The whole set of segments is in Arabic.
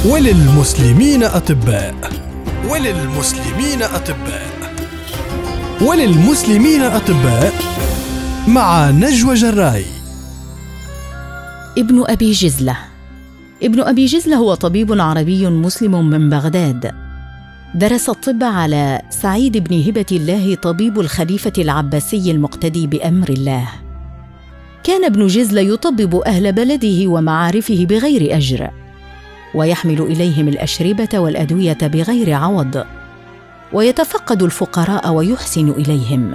وللمسلمين أطباء وللمسلمين أطباء وللمسلمين أطباء مع نجوى جراي. ابن أبي جزلة. ابن أبي جزلة هو طبيب عربي مسلم من بغداد، درس الطب على سعيد بن هبة الله طبيب الخليفة العباسي المقتدي بأمر الله. كان ابن جزلة يطبب أهل بلده ومعارفه بغير أجر، ويحمل إليهم الأشربة والأدوية بغير عوض، ويتفقد الفقراء ويحسن إليهم.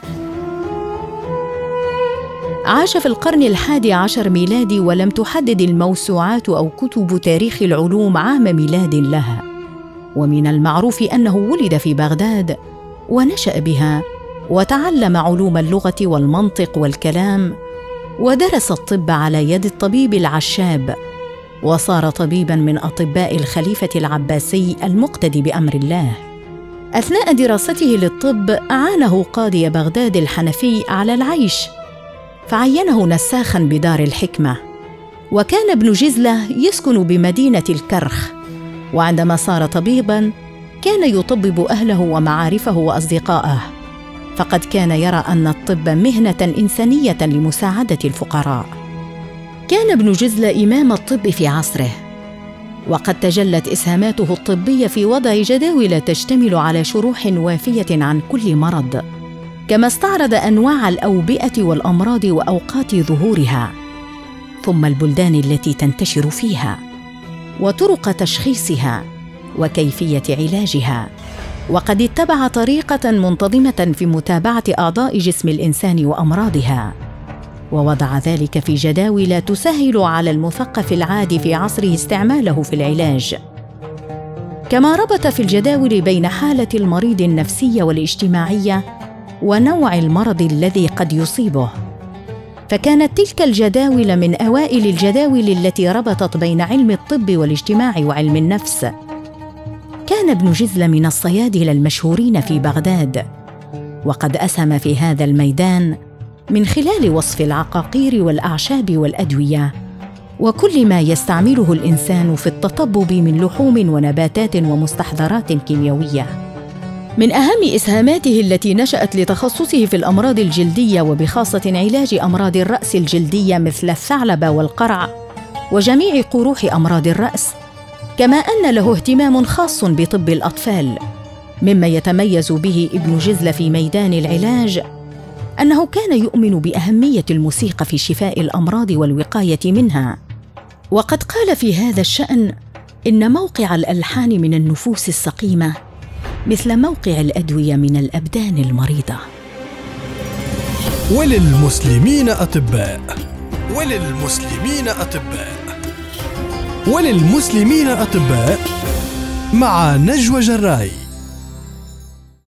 عاش في القرن 11 ميلادي، ولم تحدد الموسوعات أو كتب تاريخ العلوم عام ميلاد لها، ومن المعروف أنه ولد في بغداد ونشأ بها، وتعلم علوم اللغة والمنطق والكلام، ودرس الطب على يد الطبيب العشاب، وصار طبيباً من أطباء الخليفة العباسي المقتدي بأمر الله. أثناء دراسته للطب عانه قاضي بغداد الحنفي على العيش، فعينه نساخاً بدار الحكمة. وكان ابن جزلة يسكن بمدينة الكرخ، وعندما صار طبيباً كان يطبب أهله ومعارفه وأصدقائه، فقد كان يرى أن الطب مهنة إنسانية لمساعدة الفقراء. كان ابن جزلة إمام الطب في عصره، وقد تجلت إسهاماته الطبية في وضع جداول تشتمل على شروح وافية عن كل مرض، كما استعرض أنواع الأوبئة والأمراض وأوقات ظهورها، ثم البلدان التي تنتشر فيها، وطرق تشخيصها، وكيفية علاجها. وقد اتبع طريقة منتظمة في متابعة أعضاء جسم الإنسان وأمراضها، ووضع ذلك في جداول تسهل على المثقف العادي في عصره استعماله في العلاج. كما ربط في الجداول بين حالة المريض النفسية والاجتماعية ونوع المرض الذي قد يصيبه، فكانت تلك الجداول من أوائل الجداول التي ربطت بين علم الطب والاجتماع وعلم النفس. كان ابن جزلة من الصيادلة المشهورين في بغداد، وقد أسهم في هذا الميدان من خلال وصف العقاقير والأعشاب والأدوية وكل ما يستعمله الإنسان في التطبب من لحوم ونباتات ومستحضرات كيميائية. من أهم إسهاماته التي نشأت لتخصصه في الأمراض الجلدية، وبخاصة علاج أمراض الرأس الجلدية مثل الثعلبة والقرع وجميع قروح أمراض الرأس، كما أن له اهتمام خاص بطب الأطفال. مما يتميز به ابن جزلة في ميدان العلاج أنه كان يؤمن بأهمية الموسيقى في شفاء الأمراض والوقاية منها، وقد قال في هذا الشأن إن موقع الألحان من النفوس السقيمة مثل موقع الأدوية من الأبدان المريضة. وللمسلمين أطباء وللمسلمين أطباء وللمسلمين أطباء مع نجوى جراي.